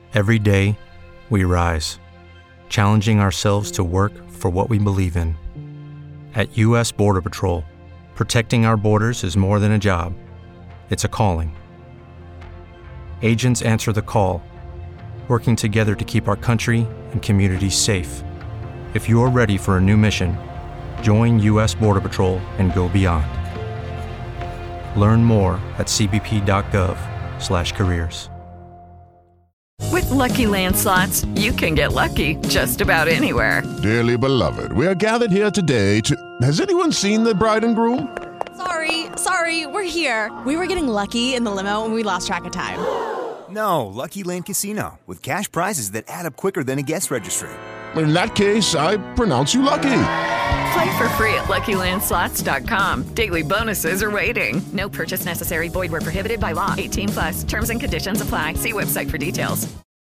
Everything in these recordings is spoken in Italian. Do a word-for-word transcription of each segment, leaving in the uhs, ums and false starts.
Every day, we rise, challenging ourselves to work for what we believe in. At U S Border Patrol, protecting our borders is more than a job, it's a calling. Agents answer the call, working together to keep our country and communities safe. If you're ready for a new mission, join U S Border Patrol and go beyond. Learn more at c b p dot gov slash careers. With Lucky Land Slots, you can get lucky just about anywhere. Dearly beloved, we are gathered here today to... Has anyone seen the bride and groom? Sorry, sorry, we're here. We were getting lucky in the limo and we lost track of time. No, Lucky Land Casino, with cash prizes that add up quicker than a guest registry. In that case, I pronounce you lucky. Play for free at lucky land slots dot com. Daily bonuses are waiting. No purchase necessary. Void where prohibited by law. eighteen plus. Terms and conditions apply. See website for details.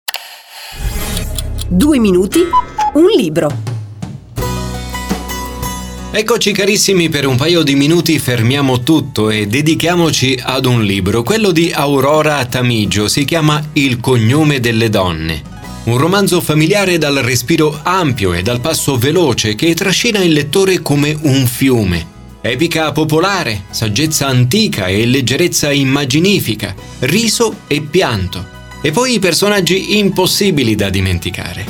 Due minuti, un libro. Eccoci carissimi, per un paio di minuti fermiamo tutto e dedichiamoci ad un libro, quello di Aurora Tamigio, si chiama Il cognome delle donne. Un romanzo familiare dal respiro ampio e dal passo veloce che trascina il lettore come un fiume. Epica popolare, saggezza antica e leggerezza immaginifica, riso e pianto. E poi i personaggi impossibili da dimenticare.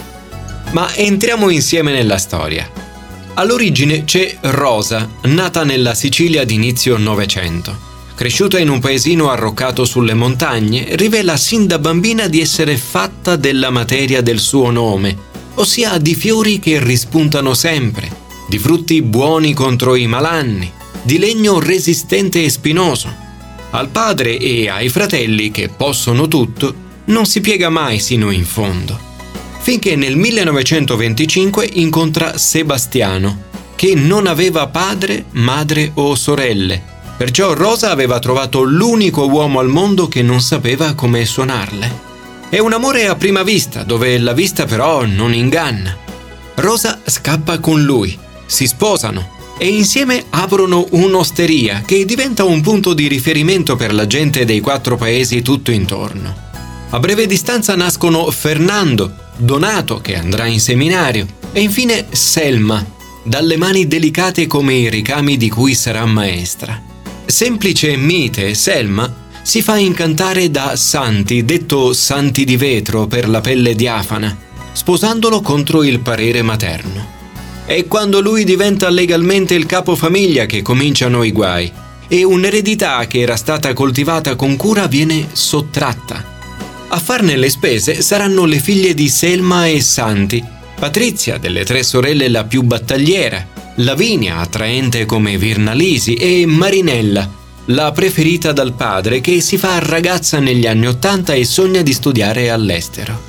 Ma entriamo insieme nella storia. All'origine c'è Rosa, nata nella Sicilia d'inizio Novecento. Cresciuta in un paesino arroccato sulle montagne, rivela sin da bambina di essere fatta della materia del suo nome, ossia di fiori che rispuntano sempre, di frutti buoni contro i malanni, di legno resistente e spinoso. Al padre e ai fratelli, che possono tutto, non si piega mai sino in fondo. Finché nel millenovecentoventicinque incontra Sebastiano, che non aveva padre, madre o sorelle. Perciò Rosa aveva trovato l'unico uomo al mondo che non sapeva come suonarle. È un amore a prima vista, dove la vista però non inganna. Rosa scappa con lui, si sposano e insieme aprono un'osteria che diventa un punto di riferimento per la gente dei quattro paesi tutto intorno. A breve distanza nascono Fernando, Donato che andrà in seminario e infine Selma, dalle mani delicate come i ricami di cui sarà maestra. Semplice e mite, Selma si fa incantare da Santi, detto Santi di vetro per la pelle diafana, sposandolo contro il parere materno. È quando lui diventa legalmente il capofamiglia che cominciano i guai e un'eredità che era stata coltivata con cura viene sottratta. A farne le spese saranno le figlie di Selma e Santi, Patrizia, delle tre sorelle la più battagliera, Lavinia, attraente come Virnalisi, e Marinella, la preferita dal padre che si fa ragazza negli anni Ottanta e sogna di studiare all'estero.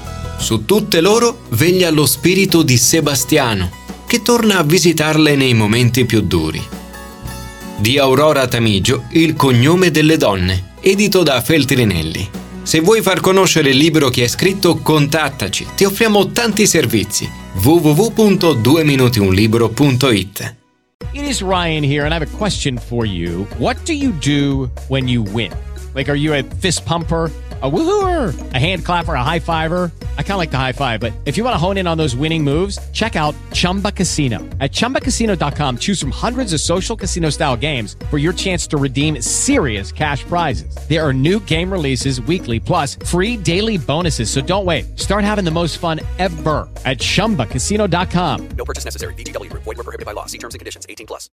Su tutte loro veglia lo spirito di Sebastiano, che torna a visitarle nei momenti più duri. Di Aurora Tamigio, Il cognome delle donne, edito da Feltrinelli. Se vuoi far conoscere il libro che hai scritto, contattaci, ti offriamo tanti servizi. w w w punto due minuti un libro punto i t. It is Ryan here, and I have a question for you. What do you do when you win? Like, are you a fist pumper, a woohooer, a hand clapper, a high fiver? I kind of like the high five, but if you want to hone in on those winning moves, check out Chumba Casino. At chumba casino dot com, choose from hundreds of social casino-style games for your chance to redeem serious cash prizes. There are new game releases weekly, plus free daily bonuses, so don't wait. Start having the most fun ever at chumba casino dot com. No purchase necessary. V G W. Void where prohibited by law. See terms and conditions. eighteen plus.